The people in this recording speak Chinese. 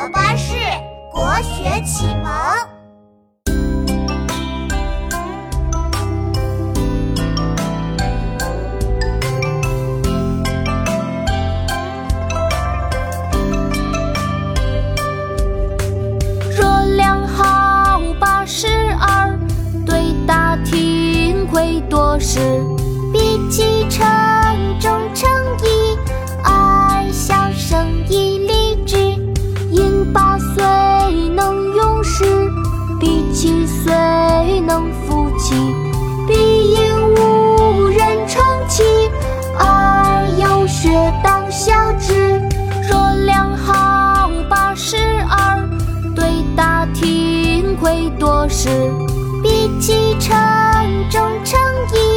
和巴士国学启蒙。 若两好82，对答庭会多时。比其乘中乘一，爱小生以礼之。饮8岁能用时，比7岁能复其。必应无人称其，而有学当效之。若两好82，对答庭会多时。比其乘中乘一。